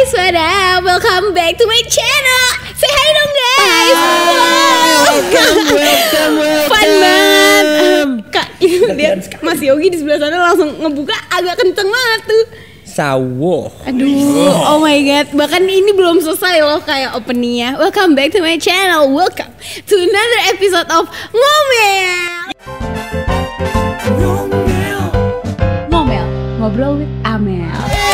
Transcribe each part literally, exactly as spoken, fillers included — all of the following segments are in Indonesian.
guys, what up? Welcome back to my channel. Say hi dong guys. Wow. Welcome, welcome, welcome. Fun banget. Kak, ini dia Mas Yogi di sebelah sana langsung ngebuka agak kenceng banget tuh. Sawo. Aduh, oh my god. Bahkan ini belum selesai loh kayak openingnya. Welcome back to my channel. Welcome to another episode of Ngomel. Ngomel, ngobrol with Amel.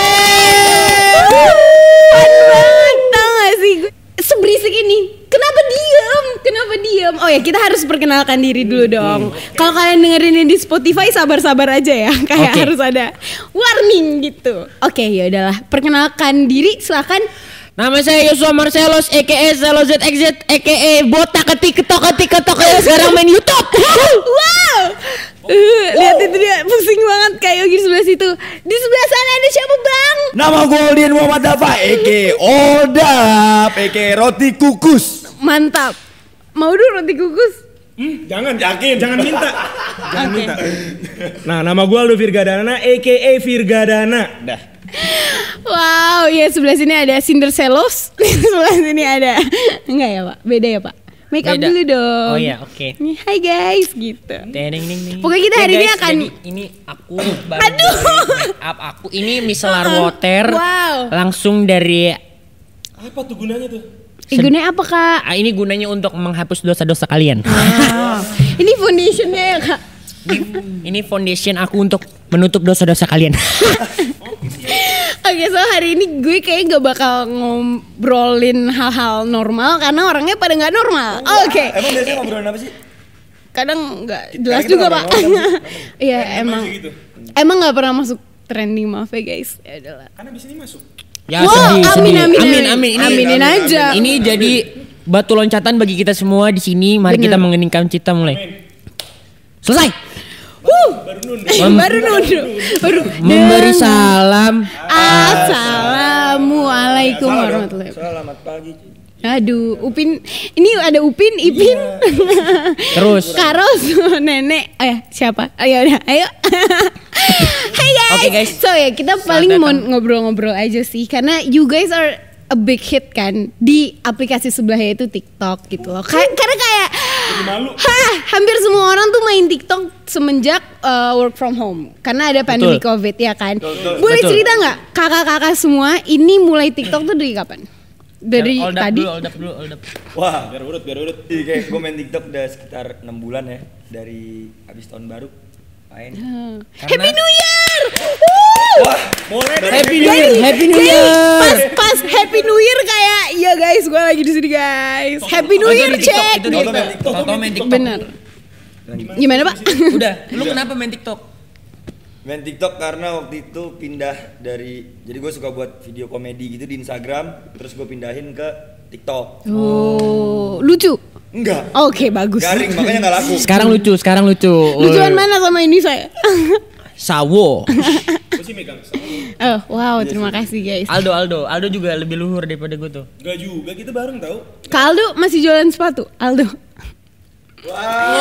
Fun banget, tau gak sih gue seberisik ini. Kenapa diem? Kenapa diem? Oh ya, kita harus perkenalkan diri dulu dong. Hmm. Kalau kalian dengerin ini di Spotify, sabar-sabar aja ya. Kayak okay. Harus ada warning gitu. Oke, okay, ya udahlah. Perkenalkan diri, silakan. Nama saya Yosua Marcelos, a k a. Selo Z X Z, a k a. Botak ketik ketok ketik ketok yang sekarang main YouTube. Wow. Uh, lihat itu dia pusing banget kayak Yogi di sebelah situ. Di sebelah sana ada siapa bang? Nama gue Aldian Muhammad Dafa, a k a. Oldap, a k a. Roti Kukus. Mantap. Mau dulu roti kukus? Hmm, jangan, yakin, jangan minta. Jangan okay. minta. Nah, nama gue Aldo Virgadana, a k a. Virgadana. Dah. Wow, ya sebelah sini ada Cinder Selos. Sebelah sini ada. Enggak ya pak? Beda ya pak? Make up dulu dong. Oh iya, oke. Okay. Hai guys, gitu. Ding, ding, ding. Pokoknya kita hari ya, ini guys, akan. Jadi ini aku baru Aduh. Make up aku. Ini micellar water. Wow. Langsung dari. Apa tuh gunanya tuh? Eh, gunanya apa kak? Ah, ini gunanya untuk menghapus dosa-dosa kalian. Wow. Ini foundationnya ya kak? Ini, ini foundation aku untuk menutup dosa-dosa kalian. Oke, okay, so hari ini gue kayak gak bakal ngobrolin hal-hal normal karena orangnya pada gak normal. Oh, Oke. Okay. Emang biasanya ngobrolin apa sih? Kadang gak jelas juga pak. Iya emang. Gitu. Emang gak pernah masuk trending, maaf ya guys. Ya udahlah. Karena abis ini masuk. Ya wow, sedih, amin, sedih. Amin, amin, amin, amin. Ini, aminin amin, aja. Amin. Ini jadi batu loncatan bagi kita semua di sini. Mari Bener. kita mengeningkan cita mulai. Amin. Selesai. Uh, baru nundu. baru nundu. Baru memberi salam. Assalamualaikum ya, warahmatullahi wabarakatuh. Selamat pagi. Aduh, Upin, ini ada Upin, Ipin, iya. Terus Karos, Nenek, eh siapa? Ayo udah, ayo. Hai guys. Okay, guys. So ya kita Selamat paling datang. Mau ngobrol-ngobrol aja sih, karena you guys are a big hit kan di aplikasi sebelahnya itu TikTok gitu loh. Kay- karena kayak, hah, hampir semua orang tuh main TikTok semenjak uh, work from home, karena ada pandemi Betul. COVID ya kan. Betul. Boleh Betul. cerita nggak kakak-kakak semua ini mulai TikTok tuh dari kapan? Dari hold up tadi. Dulu, hold up dulu, hold up. Wah, biar urut, biar urut. Iya, kayak gue main TikTok udah sekitar enam bulan ya, dari habis tahun baru main. Hmm. Karena... Happy New Year! Wah, boleh deh. Happy New Year, Happy New Year. Pas pas Happy New Year kayak, ya guys, gue lagi di sini guys. Happy New Year cek. Itu di TikTok, foto main TikTok. Bener. Gimana pak? Udah, lu kenapa main TikTok? Main TikTok karena waktu itu pindah dari, jadi gue suka buat video komedi gitu di Instagram, terus gue pindahin ke TikTok. Oh, lucu? Enggak. Oke, okay, bagus. Garing, makanya nggak laku. Sekarang lucu, sekarang lucu. Lucuan mana sama ini saya? Sawo. Gue sih megang sawo. Oh, wow, terima kasih guys. Aldo, Aldo, Aldo juga lebih luhur daripada gue tuh. Gak juga, kita bareng tau. Kak Aldo masih jualan sepatu, Aldo. Wow.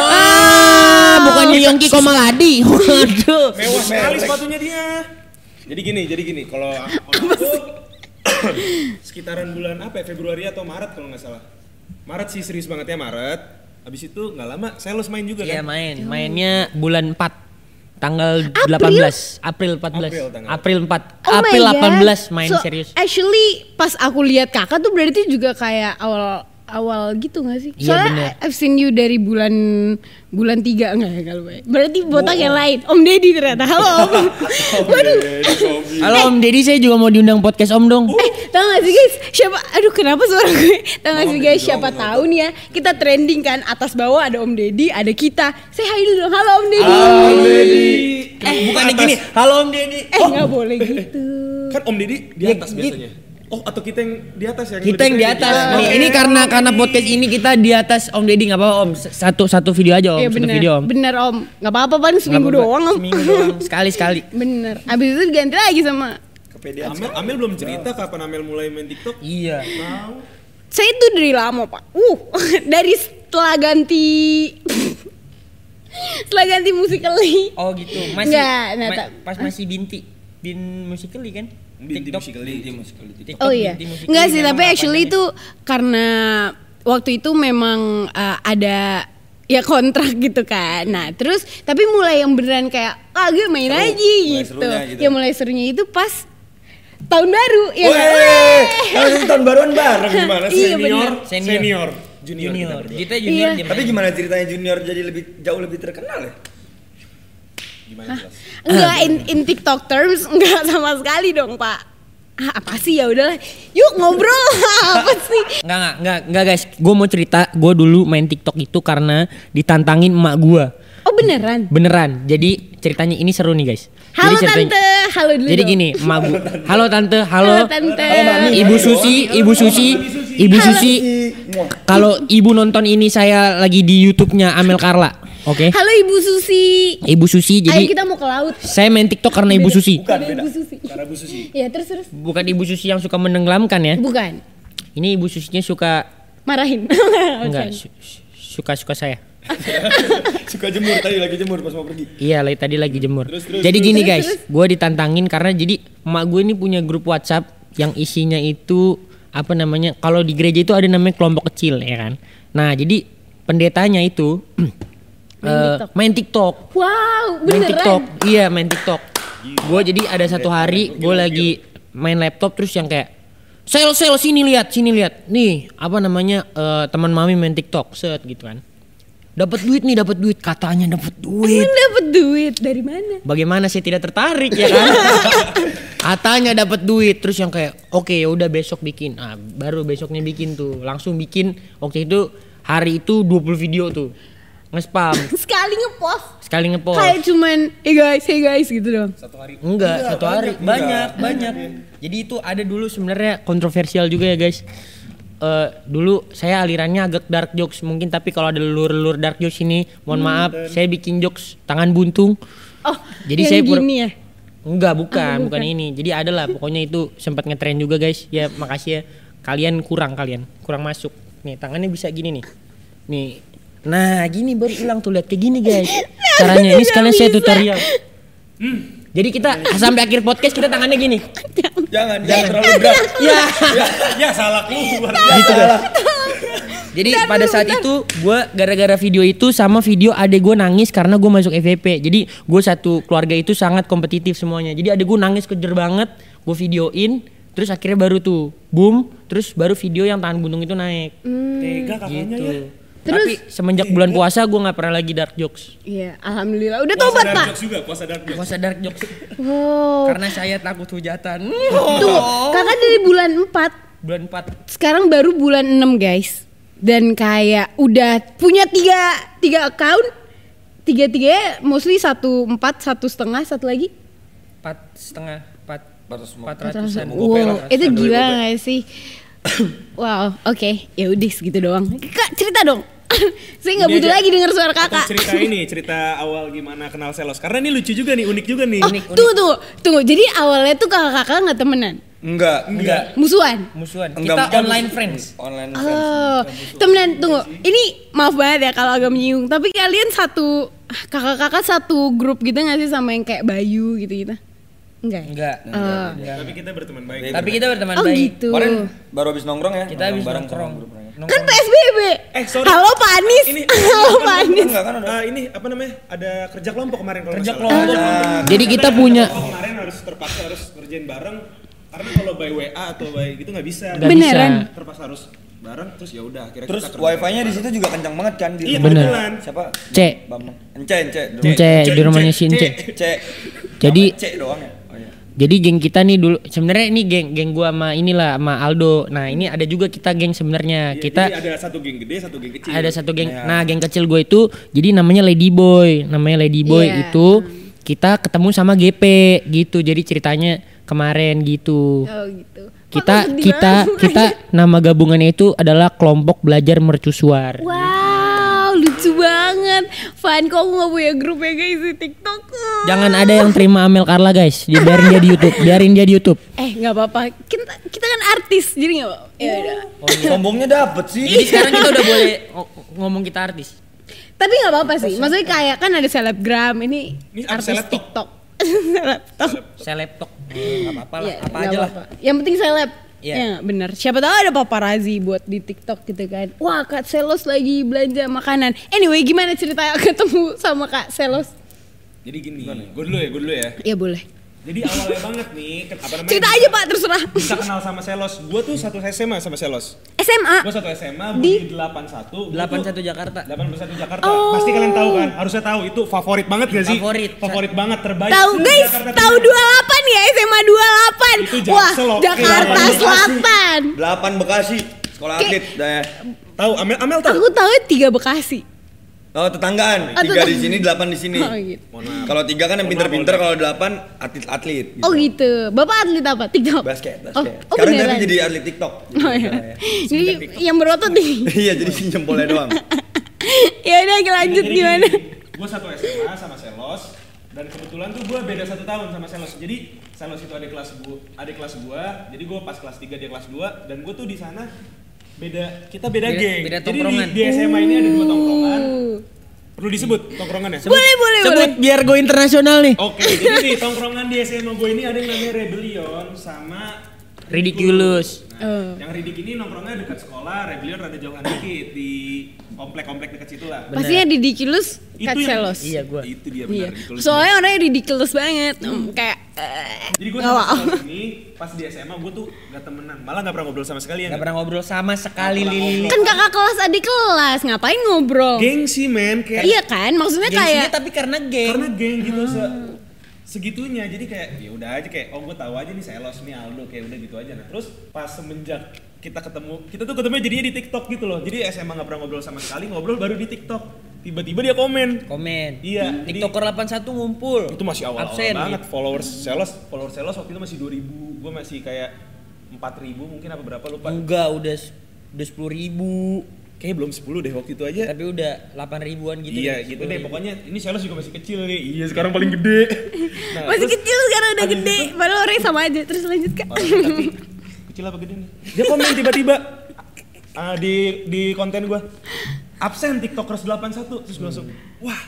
Ah, bukannya Yongki Komaladi. Waduh. Mewah sekali sepatunya dia. Jadi gini, jadi gini. Kalau aku sekitaran bulan apa ya? Februari atau Maret kalau nggak salah. Maret sih serius banget ya Maret. Habis itu nggak lama Sales main juga kan? Iya main, mainnya bulan empat. Tanggal April? delapan belas April empat belas April, April empat Oh April delapan belas main so, serius. Actually pas aku lihat kakak tuh berarti juga kayak awal awal gitu nggak sih? Soalnya iya, I've seen you dari bulan bulan tiga enggak ya kalau berarti botak yang lain. Om Deddy ternyata. Halo Om. Waduh. Halo Om Deddy, saya juga mau diundang podcast Om dong. Eh, tahu gak sih guys? Siapa? Aduh, kenapa suara gue? Tahu gak sih guys? Siapa tahu nih ya? Kita trending kan, atas bawah ada Om Deddy, ada kita. Say hi dulu dong. Halo Om Deddy. Halo Om Deddy. Eh, bukannya gini. Halo Om Deddy. Eh, nggak boleh gitu. Kan Om Deddy di atas biasanya. Oh, atau kita yang di atas ya? Kita yang di atas. Nih, ini karena karena podcast ini kita di atas Om Deddy, nggak apa-apa Om. Satu satu video aja Om, ya, satu bener, video Om. Bener Om, nggak apa-apa pan seminggu apa-apa. doang Om. Seminggu doang, sekali sekali. Bener. Abis itu diganti lagi sama. Amel, Amel belum cerita kapan Amel mulai main TikTok? Iya. Tahu. Saya itu dari lama pak. Uh, dari setelah ganti. Setelah ganti Musical.ly. Oh gitu. Masih Nggak, nah, ma- tak- pas masih Binti. Bin Musical.ly kan? Binti TikTok Musikali. Binti Musikali. TikTok Oh iya. Binti Musikali Enggak sih, memang tapi actually apa itu karena waktu itu memang uh, ada ya kontrak gitu kan. Nah, terus tapi mulai yang beneran kayak ah gue main Seru. aja Mulai gitu. serunya gitu. Ya mulai serunya itu pas tahun baru ya Weh, nggak? langsung tahun baruan bareng. Gimana Iya, senior, bener. Senior. senior, junior, Junior. kita berdua. Kita junior Iya. dia. Tapi gimana ceritanya junior jadi lebih jauh lebih terkenal ya? Gimana jelas? Enggak in, in TikTok terms enggak sama sekali dong, Pak. Ah, apa sih ya udahlah. Yuk ngobrol. Apa sih? Enggak, enggak, enggak, enggak guys. Gue mau cerita, gue dulu main TikTok itu karena ditantangin emak gue. Oh beneran? Beneran. Jadi ceritanya ini seru nih guys. Halo Jadi ceritanya- tante, halo dulu. Jadi dong. gini, emak gue. Halo tante, halo. Halo tante. Ibu Susi, Ibu Susi, Ibu Susi. Kalau ibu nonton ini saya lagi di YouTube-nya Amel Carla. Oke. Halo Ibu Susi. Ibu Susi, Ayo jadi kita mau ke laut. saya main TikTok karena Ibu Susi. Bukan, Ada beda. Ibu Susi. Cara Bu Susi. Ya terus terus. Bukan Ibu Susi yang suka menenggelamkan ya. Bukan. Ini Ibu Susinya suka Marahin. enggak su- su- suka-suka saya. Suka jemur tadi lagi jemur pas mau pergi. Iya, lagi tadi lagi jemur. Terus, terus, jadi terus. gini Terus, guys, terus. gue ditantangin karena jadi emak gue ini punya grup WhatsApp yang isinya itu apa namanya? Kalau di gereja itu ada namanya kelompok kecil ya kan. Nah jadi pendetanya itu Main eh, TikTok. main TikTok, Wow, main beneran. TikTok, iya main TikTok. Gue jadi ada satu hari gue lagi main laptop terus yang kayak sel sel sini lihat sini lihat nih apa namanya eh, teman mami main TikTok set gitu kan. Dapat duit nih, dapat duit katanya dapat duit. Emang dapat duit dari mana? Bagaimana saya tidak tertarik ya kan? Katanya dapat duit terus yang kayak oke ya udah besok bikin. Ah, baru besoknya bikin tuh. Langsung bikin waktu itu hari itu dua puluh video tuh. Nge-spam, Sekali ngepost. sekali ngepost. Kayak cuman hey guys, hey guys gitu dong. Satu hari. Enggak, satu hari banyak, banyak, banyak. Jadi itu ada dulu sebenarnya kontroversial juga ya guys. Eh dulu saya alirannya agak dark jokes mungkin, tapi kalau ada lur-lur dark jokes ini mohon maaf, saya bikin jokes tangan buntung. Oh, Jadi yang saya pur- gini ya. Enggak, bukan, Ah, bukan bukan. ini. Jadi ada lah pokoknya itu sempat ngetren juga guys. Ya makasih ya. Kalian kurang kalian, kurang masuk. Nih, tangannya bisa gini nih. Nih. Nah, gini baru hilang tuh, lihat kayak gini guys. Caranya ini sekalian saya tutorial. Hmm. Jadi kita sampai akhir podcast kita tangannya gini. Jangan, jangan terlalu berat. Ya. Ya salah keluar. Gitu guys. Jadi pada saat itu gue gara-gara video itu sama video adek gue nangis karena gue masuk F V P. Jadi gue satu keluarga itu sangat kompetitif semuanya. Jadi adek gue nangis kejer banget, gue videoin, terus akhirnya baru tuh boom, terus baru video yang tahan buntung itu naik. Tega kakaknya Gitu. ya. Terus- Tapi semenjak bulan puasa gue nggak pernah lagi dark jokes. Iya, alhamdulillah. Udah Puasa tobat, dark Pak. jokes juga, puasa dark jokes. Puasa dark jokes Wow. karena saya takut hujatan. Tuh, kakak dari bulan empat. Bulan empat. Sekarang baru bulan enam guys. Dan kayak udah punya tiga, tiga account. Tiga-tiganya mostly satu empat, satu setengah, satu lagi. Empat setengah, empat, empat ratus lima empat puluh. ratusan. Mau gope lah. Wow, itu Satu gila gope. gak sih? Wow, oke, ya udah segitu doang. Kak, cerita dong. Saya nggak Ini butuh aja. lagi dengar suara Atau kakak. cerita ini, cerita awal gimana kenal Selos. Karena ini lucu juga nih, unik juga nih. Oh, tunggu tunggu, tunggu. Jadi awalnya tuh kakak-kakak nggak temenan, Enggak, Enggak. musuhan. Musuhan. Enggak, Kita bukan online musuh. friends. Online friends. Oh, temenan. Tunggu, ini maaf banget ya kalau agak menyinggung. Tapi kalian satu kakak-kakak satu grup gitu nggak sih sama yang kayak Bayu gitu-gitu? Enggak. ya? Enggak. Oh. Tapi kita berteman baik. Baik. Tapi kita berteman Oh baik. gitu. Kemarin baru habis nongkrong ya. Kita habis bareng nongkrong. sama grup mereka. Kan P S B B. Eh, sorry. Halo Pak Anies. Ini Halo Pak Anies. Enggak kan ada. Ah, ini apa namanya? Ada kerja kelompok kemarin kalau Kerja nggak salah. kelompok. Jadi kita punya Oh, kemarin harus terpaksa harus kerjain bareng karena kalau by W A atau by gitu nggak bisa. Nggak Beneran? bisa. Terpaksa harus bareng terus ya udah akhirnya Terus kita kerja. wifi-nya di situ juga kencang banget kan di Iya, rumah. Bener. kebetulan. Siapa? C. Bambang. Ence, Ence. Ence di rumahnya si Ence. C. Jadi- C doang ya. Oh iya. Jadi geng kita nih dulu sebenarnya ini geng geng gua sama inilah sama Aldo. Nah, ini ada juga kita geng sebenarnya. Iya, Kita jadi ada satu geng gede, satu geng kecil. ada satu geng. Iya. Nah, geng kecil gue itu jadi namanya Lady Boy. Namanya Lady Boy Iya. itu kita ketemu sama G P gitu. Jadi ceritanya kemarin gitu. Oh gitu. Kita Kok sedih kita banget? kita nama gabungannya itu adalah kelompok belajar mercusuar. Wow, lucu banget. Fan kok aku nggak punya grup ya guys di TikTok. Jangan ada yang terima Amel Carla guys. Dia biarin dia di YouTube. Biarin dia di YouTube. Eh nggak apa-apa. Kita kita kan artis jadi nggak apa. Ya udah. Sombongnya dapet sih. Jadi sekarang kita udah boleh ng- ngomong kita artis. Tapi nggak apa-apa sih. Maksudnya kayak kan ada selebgram ini, Ini apa, artis selebtok? TikTok. Selebtok. Selebtok. Enggak apa-apa lah, Ya, apa nggak aja lah. apa-apa. Yang penting seleb. Iya. Ya, benar. Siapa tahu ada paparazzi buat di TikTok gitu kan. Wah, Kak Selos lagi belanja makanan. Anyway, gimana ceritanya ketemu sama Kak Selos? Jadi gini, gue dulu ya, gue dulu ya. Ya boleh. Jadi awalnya banget nih, ke- apa namanya? Cerita bisa- aja Pak, terserah. Bisa kenal sama Selos. Gue tuh satu S M A sama Selos. S M A. Gue satu S M A, gue Di- di delapan satu. delapan satu Jakarta. delapan puluh satu Jakarta. Oh. Pasti kalian tahu kan? Harusnya tahu itu favorit banget gak sih? Favorit. Favorit banget, terbaik. Tahu se- guys, Jakarta tahu Timur. dua puluh delapan ya, S M A dua puluh delapan. Itu Wah, Jaksel, oke. Jakarta Delapan Selatan. delapan Bekasi, sekolah Kayak- atlet dah ya. Tahu Amel Amel tahu? Aku tahu tiga Bekasi. Oh, tetanggaan. Ah, Tiga tetang- di sini, delapan di sini. Oh gitu. Mohon maaf. Kalau tiga kan yang Mohon pinter-pinter, maaf, kalau delapan atlet-atlet. Gitu. Oh gitu. Bapak atlet apa? TikTok. Basket, Oh, basket. oh Sekarang beneran. tapi jadi atlet TikTok. Oh iya. Jadi yang berotot nih. Iya, jadi jempolnya doang. Ya udah lanjut gimana? Gue satu S M A sama Selos dan kebetulan tuh gue beda satu tahun sama Selos. Jadi Selos itu adik kelas gue, adik kelas gue. Jadi gue pas kelas tiga dia kelas dua dan gue tuh di sana beda kita beda, Beda- geng. beda Jadi di, tongkrongan. di S M A ini ada dua tongkrongan. Uh. Perlu disebut tongkrongannya? Boleh, boleh, Sebut boleh. biar gue internasional nih. Oke, jadi di tongkrongan di S M A gue ini ada yang namanya Rebellion sama Ridiculous. Nah, Oh. yang Ridik ini nongkrongnya dekat sekolah, Rebellion rada jauhan dikit di komplek-komplek dekat situ lah. Bener. Pastinya ridiculous Kak yang- Selos. Iya, gua. Itu dia Iya. benar ridiculous. Soalnya orangnya ridiculous banget. Hmm, kayak eh. Jadi gue Oh, sama wow. Selos ini pas di S M A gue tuh gak temenan, malah gak pernah ngobrol sama sekali ya. Gak pernah ngobrol sama sekali Nggak pernah Lili. Kan kakak kelas adik kelas, ngapain ngobrol? Gengsi men, kayak Iya kan? Maksudnya Gengsinya kayak tapi karena geng. karena geng gitu se segitunya. Jadi kayak ya udah aja kayak oh gue tahu aja nih Selos nih Aldo kayak udah gitu aja. Nah terus pas semenjak kita ketemu, kita tuh ketemu jadinya di TikTok gitu loh. Jadi S M A gak pernah ngobrol sama sekali, ngobrol baru di TikTok. Tiba-tiba dia komen. Komen. Iya, jadi- TikToker delapan puluh satu ngumpul. Itu masih awal-awal Absen, banget gitu. followers Selos, followers Selos waktu itu masih dua ribu, gue masih kayak empat ribu mungkin apa berapa lupa. Enggak, udah udah sepuluh ribu. Kayaknya belum sepuluh deh waktu itu aja. Tapi udah delapan ribuan gitu. Iya deh, gitu sepuluh deh ribu. pokoknya ini Selos juga masih kecil nih. Iya sekarang paling gede. Nah, masih terus- kecil sekarang udah abis gede. itu- Padahal orangnya sama aja. Terus lanjut Kak. Parah, tapi kecil apa gede nih? Dia komen tiba-tiba ah, di di konten gue absen tiktokers delapan puluh satu terus gue langsung wah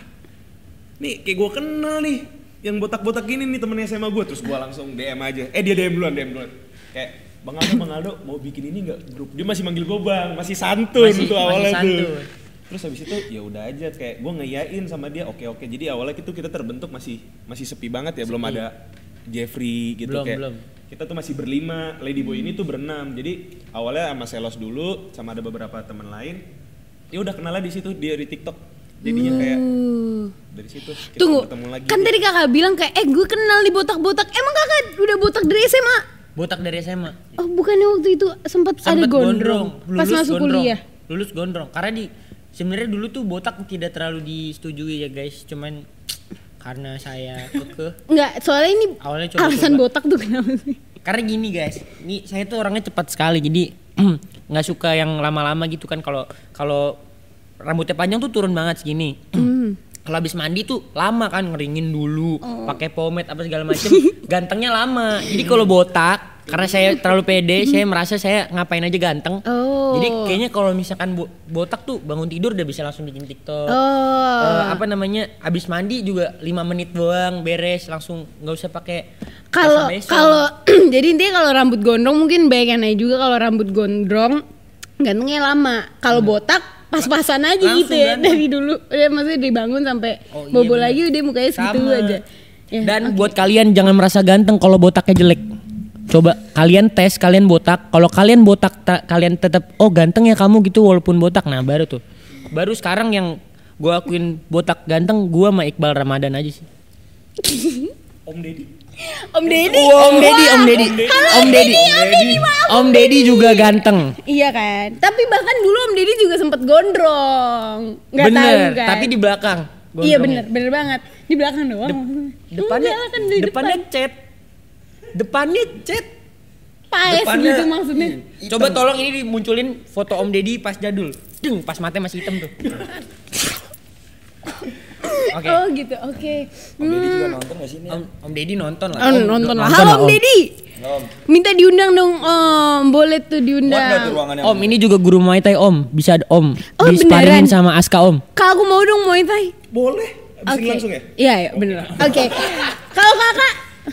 nih kayak gue kenal nih yang botak-botak gini nih temennya S M A gue terus gue langsung D M aja eh dia D M duluan D M duluan kayak Bang Aldo Bang Aldo mau bikin ini nggak grup dia masih manggil gue bang masih santun Masih- tuh masih awalnya tuh santun. terus habis itu ya udah aja kayak gue ngeyain sama dia oke oke jadi awalnya itu kita terbentuk masih masih sepi banget ya belum ada Jeffrey gitu Belum, kayak belum. kita tuh masih berlima, Ladyboy ini tuh berenam. Jadi awalnya sama Selos dulu, sama ada beberapa teman lain. Ya udah kenalnya di situ dia di TikTok. Jadinya kayak Uh. dari situ kita Tunggu. bertemu lagi. Kan tadi kakak bilang kayak eh gue kenal nih botak-botak. Emang kakak udah botak dari S M A? Botak dari S M A. Oh bukannya waktu itu sempat ada Sempet gondrong, pas lulus masuk gondrong. kuliah. Lulus gondrong. Karena di sebenarnya dulu tuh botak tidak terlalu disetujui ya guys. Cuman karena saya kekeh. Enggak, soalnya ini Awalnya coba-coba. alasan botak tuh kenapa sih? Karena gini guys, ini saya tuh orangnya cepat sekali, jadi nggak suka yang lama-lama gitu kan. Kalau kalau rambutnya panjang tuh turun banget segini. Hmm. Kalau habis mandi tuh lama kan ngeringin dulu, Oh. pakai pomade apa segala macem, gantengnya lama. Jadi kalau botak, karena saya terlalu pede, saya merasa saya ngapain aja ganteng. Oh. Jadi kayaknya kalau misalkan bo- botak tuh bangun tidur udah bisa langsung bikin TikTok. Oh. Eh, apa namanya? Abis mandi juga lima menit doang beres, langsung nggak usah pakai Kalau basa-basi. kalau jadi intinya kalau rambut gondrong mungkin banyak yang nanya juga kalau rambut gondrong gantengnya lama. Kalau botak pas-pasan aja Langsung gitu ya ganteng. dari dulu. Udah maksudnya dibangun sampai Oh, iya bobo bener. lagi udah mukanya segitu Sama. aja. Ya, Dan oke. buat kalian jangan merasa ganteng kalau botaknya jelek. Coba kalian tes, kalian botak. Kalau kalian botak, ta- kalian tetap oh ganteng ya kamu gitu walaupun botak. Nah baru tuh. Baru sekarang yang gue akuin botak ganteng, gue sama Iqbal Ramadan aja sih. Om Deddy. Om Deddy. Om Deddy, Om Deddy, Halo, Om Deddy, Om Deddy, maaf, Om Deddy juga ganteng. Iya kan. Tapi bahkan dulu Om Deddy juga sempet gondrong. Nggak tahu Bener, kan. tapi di belakang. Iya gondrongnya. bener, bener banget. Di belakang doang. Depannya, Enggak, kan di depannya depan. cat, depannya cat. Paes depannya- gitu maksudnya. Coba tolong ini dimunculin foto Om Deddy pas jadul. Deng, pas matanya masih hitam tuh. Oke. Oh gitu, oke. Om Deddy juga nonton gak sih ini? Om, Om Deddy nonton lah. Oh, nonton lah. nonton Halo lah, Om Deddy. Om. Minta diundang dong Om. Boleh tuh Muat gak tuh diundang. ruangannya? Om ini juga guru Muay Thai Om, bisa ada Om. Oh, Disparingin beneran? sama Aska Om. Kak aku mau dong Muay Thai. Boleh. Abis ini Oke. langsung ya? Iya, iya bener. Oke. Kalau kakak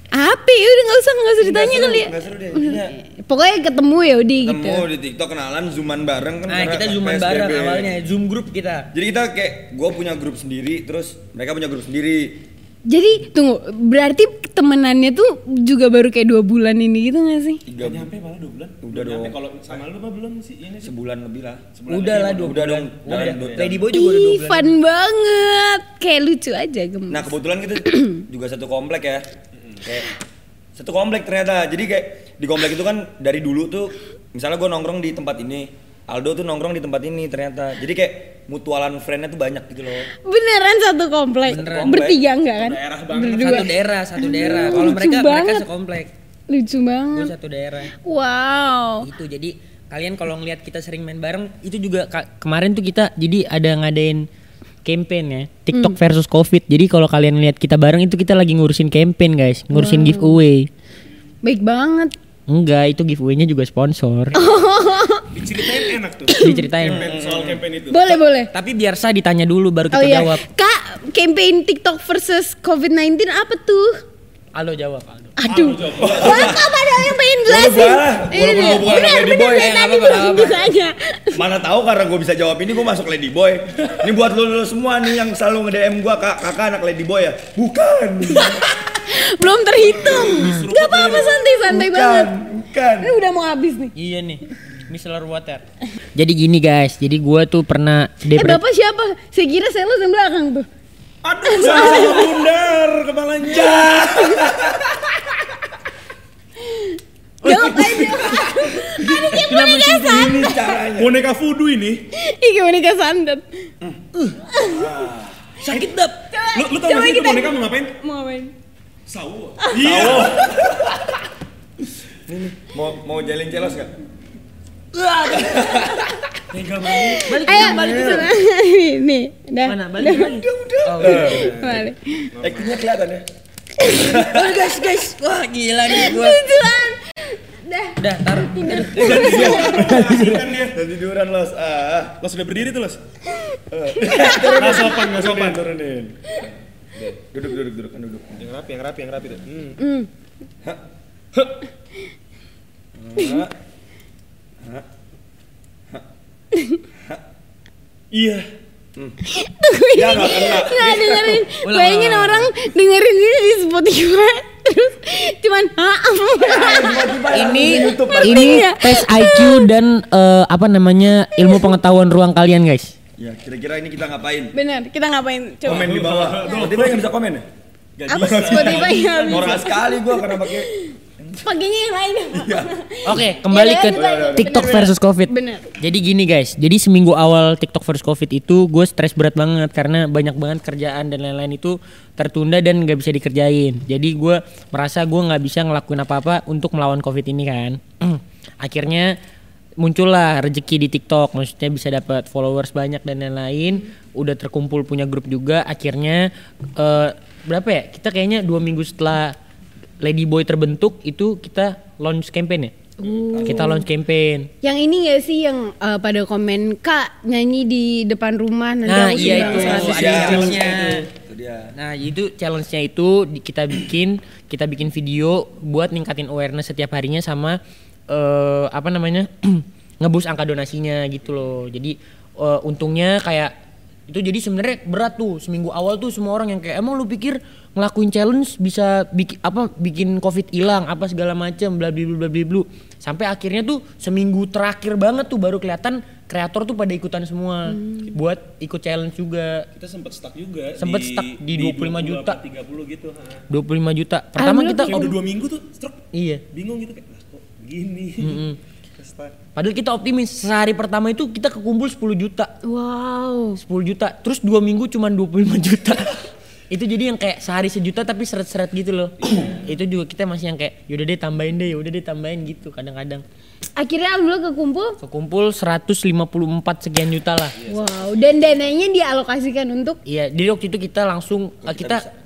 Apa ya udah nggak usah nggak usah ditanya Nggak seru, kali ya. nggak seru deh. Intinya Pokoknya ketemu ya udah gitu. ketemu di TikTok kenalan, zooman bareng kan. Nah karena kita zooman P S B B. bareng awalnya, zoom group kita. Jadi kita kayak gue punya grup sendiri, terus mereka punya grup sendiri. Jadi tunggu, berarti temenannya tuh juga baru kayak dua bulan ini gitu gak sih? Tiga Gak nyampe malah dua bulan. Udah Nyampe. dong. Kalau sama lu mah belum sih ini sih. sebulan lebih lah. Sebulan Udah lebih, lah mau dua Udah bulan. dong. Udah. Jalan dua- Lady Boy juga udah dua Ih, bulan. fun banget. Kayak lucu aja gemes. Nah kebetulan kita juga satu komplek ya. Kayak satu komplek ternyata. Jadi kayak di komplek itu kan dari dulu tuh, misalnya gue nongkrong di tempat ini, Aldo tuh nongkrong di tempat ini ternyata. Jadi kayak mutualan friend-nya tuh banyak gitu loh. Beneran satu komplek? Beneran. Bertiga enggak kan? Daerah banget. Berdua. Satu daerah, satu daerah. Kalau Lucu mereka mereka banget. sekomplek. Lucu Gue banget. satu daerah. Wow. Itu jadi kalian kalau ngelihat kita sering main bareng itu juga ka- kemarin tuh kita jadi ada ngadain campaign ya TikTok Hmm. versus Covid. Jadi kalau kalian lihat kita bareng itu kita lagi ngurusin campaign guys, ngurusin giveaway. Baik banget. Enggak, itu giveaway-nya juga sponsor. Diceritain enak tuh. Diceritain. Campaign, soal campaign itu. Boleh, boleh. Tapi biar saya ditanya dulu baru Oh kita iya. jawab. Kak, campaign TikTok versus covid sembilan belas apa tuh? Aldo jawab, Aldo. Aduh. jawab. Wah, kak padahal yang pengen jelasin. Boleh, boleh. Ini Walaupun dia. gua bukan Benar, Lady benar. Boy. Dari Eh, tadi apa-apa, belum apa-apa. bisanya. Mana tahu karena gue bisa jawab ini gue masuk Lady Boy. Ini buat lo, lo semua nih yang selalu nge-D M gue, kak, kakak anak Lady Boy ya? Bukan. Belum terhitung. Gak apa-apa, santai-santai Bukan, banget. bukan. Ini udah mau habis nih. Iya nih. Micellar water. Jadi gini guys, jadi gua tuh pernah Eh, depre- Bapak siapa? Saya kira sales yang belakang tuh. Aduh, salah bundar kepalanya. Jawab aja. Ada kayak boneka santet. Ini caranya. Boneka voodoo ini. Ih, kayak boneka santet. sakit dap. Lu, lu tau Coba gak sih itu kita- boneka mau ngapain? Mau ngapain? Sawo. Iya. Mau mau jalin celos gak? Tega banget. Balik Ayo balik balik dulu. ke sana. Nih, udah. Mana? Balik lagi. Oh, Balik. Actingnya kelihatan ya? oh, guys, guys. Wah, gila nih gua. Lucuan. Dah. Udah, taruh. Dan tiduran los. Ah. Los udah berdiri tuh, Los. Turunin. Nggak sopan, nggak sopan. Turunin. Duduk, duduk, duduk, kan duduk. Yang rapi, yang rapi, yang rapi tuh. Hmm. Hmm. Hah? Hah? Iya. Ya nggak kena. Nggak dengerin. Ulang, Bayangin ulang, orang dengerin ini di Spotify terus cuman ha. Ini YouTube. ini Iya. tes I Q dan eh, apa namanya ilmu pengetahuan ruang kalian guys. Ya, kira-kira ini kita ngapain? Bener, kita ngapain? Coba. Komen di bawah. Spotify nggak bisa komen ya? Apa Spotify nggak bisa? Norak sekali gua karena pakai. Pakainya yang lain. Oke, kembali Ya, ke udah, udah, TikTok bener, versus Covid. Bener. Jadi gini guys, jadi seminggu awal TikTok versus Covid itu gue stres berat banget karena banyak banget kerjaan dan lain-lain itu tertunda dan nggak bisa dikerjain. Jadi gue merasa gue nggak bisa ngelakuin apa-apa untuk melawan Covid ini kan. Akhirnya muncullah rezeki di TikTok, maksudnya bisa dapat followers banyak dan lain-lain. Udah terkumpul punya grup juga. Akhirnya eh, berapa ya? Kita kayaknya dua minggu setelah Lady Boy terbentuk itu kita launch campaign ya. Kita launch campaign. Yang ini gak sih yang uh, pada komen Kak nyanyi di depan rumah nanti Nah aku iya sumbang itu seratus ada ribu." challenge-nya. Itu dia. Nah itu challenge-nya itu di- kita bikin kita bikin video buat ningkatin awareness setiap harinya sama eh, apa namanya ngebus angka donasinya gitu loh. Jadi eh, untungnya kayak itu jadi sebenarnya berat tuh seminggu awal tuh semua orang yang kayak emang lu pikir ngelakuin challenge bisa bikin apa bikin Covid hilang apa segala macam bla bla bla bla bla sampai akhirnya tuh seminggu terakhir banget tuh baru kelihatan kreator tuh pada ikutan semua buat ikut challenge juga. Kita sempet stuck juga. Sempet stuck di dua puluh lima juta. tiga puluh gitu. Ha. dua puluh lima juta. Pertama Alhamdulillah kita Kayak udah dua minggu tuh stroke. iya. Bingung gitu kayak, lah kok begini. Mm-mm. Stuck. Padahal kita optimis sehari pertama itu kita kekumpul sepuluh juta. Wow. sepuluh juta. Terus dua minggu cuman dua puluh lima juta. Itu jadi yang kayak sehari sejuta tapi seret-seret gitu loh. Itu juga kita masih yang kayak yaudah deh tambahin deh, yaudah deh tambahin gitu kadang-kadang. Akhirnya alhamdulillah kekumpul. Kekumpul seratus lima puluh empat sekian juta lah. Wow. Dan dananya dialokasikan untuk Iya, jadi waktu itu kita langsung uh, kita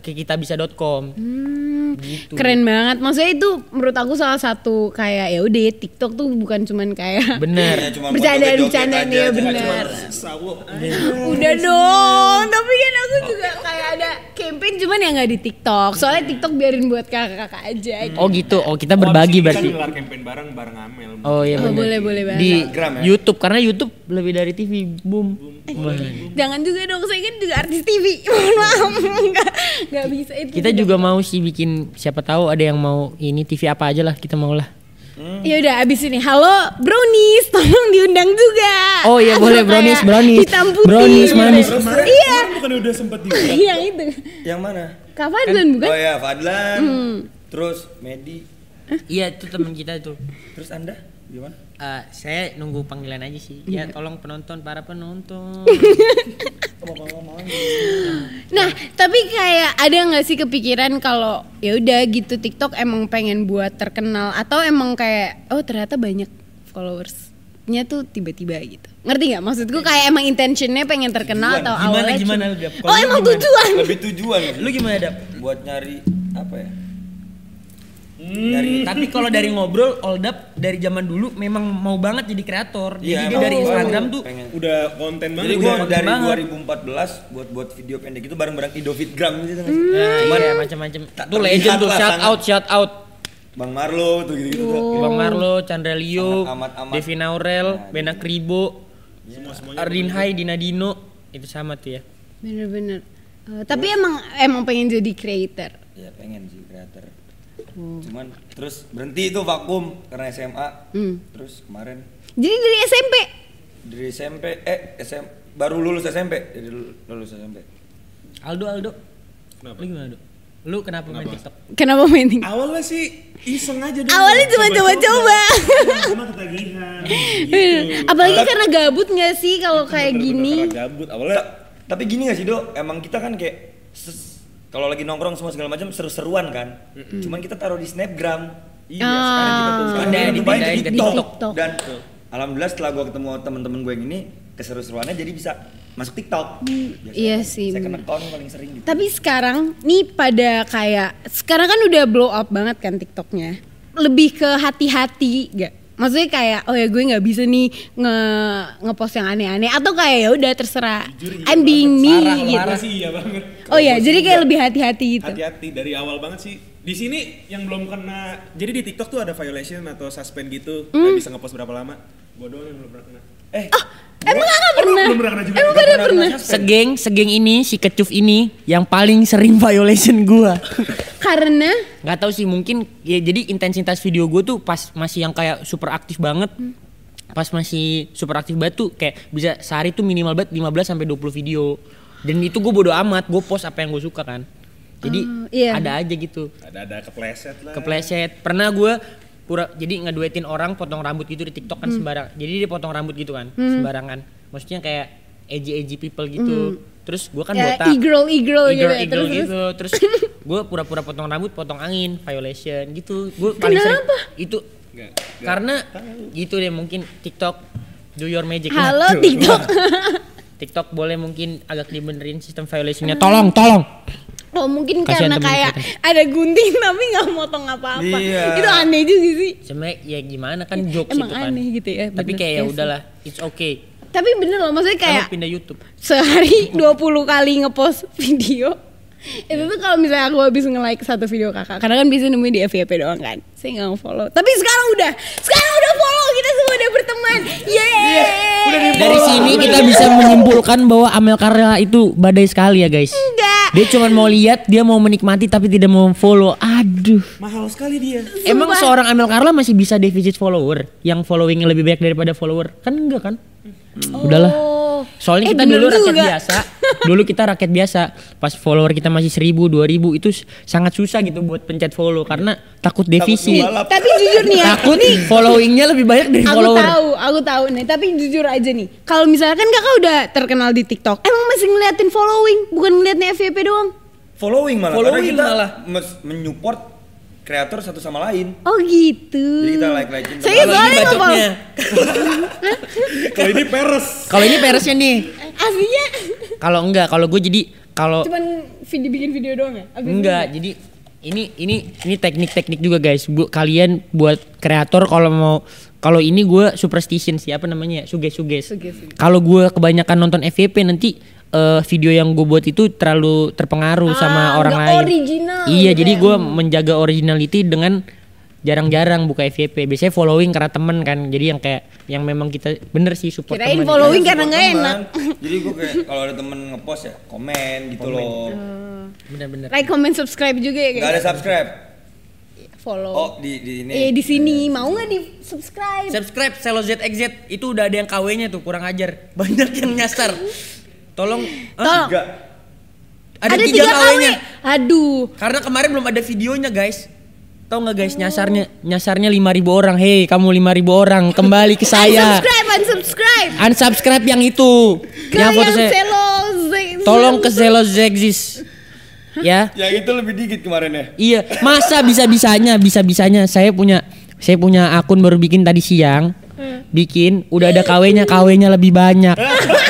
ke kitabisa dot com. Hmm, Gitu. Keren banget. Maksudnya itu menurut aku salah satu kayak ya udah TikTok tuh bukan cuman kayak Bener. Ya, cuma bercandaan-bercandaan foto-foto ya aja, bener. Sawo. Udah dong, tapi kan aku juga kayak ada campaign cuman ya nggak di TikTok. Soalnya TikTok biarin buat kakak-kakak aja. Gitu. Oh gitu. Oh kita berbagi Kita berarti. gelar campaign bareng bareng Amel. Oh iya Oh, bener. boleh boleh banget. Di Instagram ya? YouTube karena YouTube lebih dari T V. Boom. Wah. Jangan juga dong, saya kan juga artis T V. Mohon maaf, nggak nggak bisa itu. Kita juga mau sih bikin, siapa tahu ada yang mau ini T V apa aja lah, kita mau lah. Ya udah abis ini, halo Brownies, tolong diundang juga. Oh iya Atau boleh kayak brownies, brownies. hitam putih. Brownies manis. Kemarin Iya. bukan udah sempet juga. Yang itu. Yang mana? Kak Fadlan bukan? Oh ya, Fadlan. Hmm. Terus Medi. Iya itu teman kita tuh. Terus Anda gimana? Eh, saya nunggu panggilan aja sih. Ya tolong penonton, para penonton. Nah, tapi kayak ada nggak sih kepikiran kalau ya udah gitu TikTok emang pengen buat terkenal atau emang kayak oh ternyata banyak followersnya tuh tiba-tiba gitu. Ngerti nggak? Maksudku kayak emang intentionnya pengen terkenal Tujuan. atau Gimana, awalnya gimana cuma- lu, Gap? Kalau Oh lu emang gimana? tujuan. Lebih tujuan. Lu gimana Dap? Buat nyari apa ya? Hmm. Nyari Tapi kalau dari ngobrol, Oldap dari zaman dulu memang mau banget jadi kreator. Jadi Iya, dia emang dari gua Instagram tuh pengen. Udah konten banget. Jadi udah gue konten dari banget. dua ribu empat belas buat buat video pendek itu bareng-bareng Idofitgram gitu kan. Nah, Cuman iya macam-macam. tak Tuh legend terlihat tuh, lah, shout sangat. out, shout out. Bang Marlo tuh gitu-gitu tuh. Bang Marlo, Chandra Leo, Sangat amat-amat. Devin Aurel, Nah, Bena Kribo, semua-semuanya. Ardin Hai, Dina Dino, itu sama tuh ya. Bener-bener. Eh, tapi emang emang pengen jadi creator. Ya pengen sih kreator. Hmm. Cuman terus berhenti itu vakum karena S M A. Hmm. Terus kemarin Jadi dari S M P. dari S M P eh S M baru lulus S M P, jadi lulus S M P. Aldo, Aldo. Kenapa? Lu gimana, Aldo? Lu kenapa, main TikTok? Kenapa main TikTok? Awalnya sih iseng aja dulu. Awalnya cuma coba-coba. Cuma ketagihan. Gitu. Apalagi karena gabut nggak sih kalau kayak Bener-bener gini? karena gabut. Awalnya Ta- tapi gini gak sih Do, emang kita kan kayak ses- kalau lagi nongkrong semua segala macam seru-seruan kan. Cuman kita taruh di Snapgram. iya Ah. sekarang kita tuh Sekarang Pindahin, kita cobain dipindahin di ke TikTok. TikTok. Dan alhamdulillah setelah gua ketemu temen-temen gue yang ini keseru-seruannya jadi bisa masuk TikTok. Biasanya iya kan sih, second bener. account paling sering gitu. Tapi sekarang nih pada kayak sekarang kan udah blow up banget kan TikToknya. Lebih ke hati-hati gak? Maksudnya kayak oh ya gue nggak bisa nih nge ngepost yang aneh-aneh atau kayak ya udah terserah. Jujur iya I'm being me Parah, gitu. Parah sih iya banget. Oh ya, Kalau jadi gua kayak sih lebih hati-hati gitu. hati-hati dari awal banget sih. Di sini yang belum kena, jadi di TikTok tuh ada violation atau suspend gitu, Hmm. nggak bisa ngepost berapa lama. Gua doang yang belum pernah kena. Eh, Emang kakak pernah? belum pernah kena juga. Emang Nggak kakak pernah pernah? kena Segeng, segeng ini, si kecup ini yang paling sering violation gua. Karena Nggak tahu sih, mungkin ya jadi intensitas video gue tuh pas masih yang kayak super aktif banget. Pas masih super aktif banget tuh kayak bisa sehari tuh minimal banget lima belas sampai dua puluh video. Dan itu gue bodo amat, gue post apa yang gue suka kan. Jadi Oh, iya. ada aja gitu. Ada-ada kepleset lah. Kepleset. Pernah gue pura jadi ngeduetin orang potong rambut gitu di TikTok kan sembarang. Jadi dia potong rambut gitu kan, sembarangan. Maksudnya kayak edgy-edgy people gitu. Terus gue kan ya botak. e-girl e-girl gitu. Eagle, ya. eagle Terus, gitu. Terus gue pura-pura potong rambut, potong angin, violation gitu. Gue paling sering Kenapa? itu Nggak, nggak. karena gitu deh mungkin TikTok do your magic. Halo Waduh. TikTok. TikTok boleh mungkin agak dibenerin sistem violationnya. Tolong, tolong. Oh mungkin Kasihan karena temen kayak kita. ada gunting tapi nggak motong apa-apa. Iya. Itu aneh juga sih. Sebenarnya ya gimana kan jokes Emang itu kan. aneh gitu ya, Tapi bener. kayak ya Iya sih. udahlah, it's okay. Tapi bener loh, maksudnya kayak Kamu pindah YouTube. sehari dua puluh kali ngepost video. Itu tuh kalau misalnya aku habis nge-like satu video kakak, karena kan biasanya nemuin di F Y P doang kan. Saya nggak nge-follow. Tapi sekarang udah, sekarang udah follow, kita semua udah berteman. Yeay. Dari sini kita bisa menyimpulkan bahwa Amel Carla itu badai sekali ya guys. Enggak. Dia cuma mau lihat, dia mau menikmati tapi tidak mau follow. Aduh. Mahal sekali dia. Emang Sumpah. seorang Amel Carla masih bisa defisit follower yang followingnya lebih banyak daripada follower? Kan enggak kan? Udahlah. Oh. Soalnya Eh, kita bener dulu rakyat juga. biasa. Dulu kita rakyat biasa. Pas follower kita masih seribu, dua ribu itu s- sangat susah gitu buat pencet follow karena takut defisit. ngebalap. Tapi jujur nih ya, Takut followingnya lebih banyak dari aku follower. tahu, aku tahu nih. Tapi jujur aja nih, kalau misalkan kakak udah terkenal di TikTok, emang masih ngeliatin following, bukan ngeliatnya F Y P doang? Following malah Following karena kita malah. mes- mensupport kreator satu sama lain. Oh gitu. Jadi kita like-likein sama- Saya Kalau ini soalnya nggak bacotnya. Kalau ini peres. Kalau ini peresnya nih. aslinya Kalau enggak, kalau gue jadi kalau cuman video bikin video doang ya? Abis Enggak, itu? jadi ini ini ini teknik-teknik juga guys. Bu, kalian buat kreator kalau mau kalau ini gue superstition sih apa namanya ya? Suges-suges. Suges-suges. Kalau gue kebanyakan nonton F Y P nanti uh, video yang gue buat itu terlalu terpengaruh Ah, sama orang nggak lain. original Iya, gitu jadi ya. gue menjaga originality dengan jarang-jarang buka F Y P. Biasanya following karena temen kan. Jadi yang kayak yang memang kita bener sih support Kirain temen. following Support karena nggak teman. enak. Jadi gue kayak kalau ada temen ngepost ya komen gitu loh. Bener-bener. Like, comment, subscribe juga ya guys. Gak ada subscribe. Follow. Oh di di ini. Eh di sini mau nggak di subscribe? Subscribe Selo Z X Z itu udah ada yang K W-nya tuh, kurang ajar. Banyak yang nyasar. Tolong. Hah? Tolong. Tiga. Ada, Ada tiga tiga K K W. W-nya. Aduh. Karena kemarin belum ada videonya, guys. Tahu nggak guys, nyasarnya nyasarnya lima ribu orang. Hei, kamu lima ribu orang, kembali ke saya. Unsubscribe, unsubscribe. Unsubscribe yang itu. Ke yang foto yang saya. Selo Z- Tolong ke Selo Z X Z. Ya. Yang itu lebih dikit kemarin ya. Iya, masa bisa-bisanya, bisa-bisanya saya punya saya punya akun baru bikin tadi siang. Bikin udah ada K W-nya, K W-nya lebih banyak.